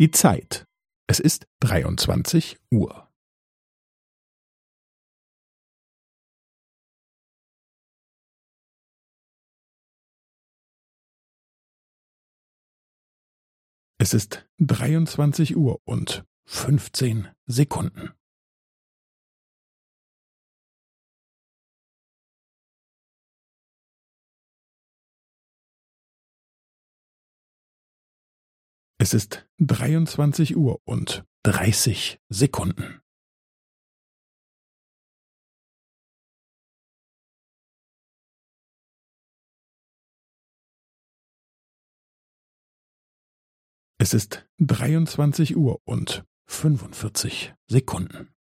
Die Zeit. Es ist 23 Uhr. Es ist 23 Uhr und 15 Sekunden. Es ist 23 Uhr und 30 Sekunden. Es ist 23 Uhr und 45 Sekunden.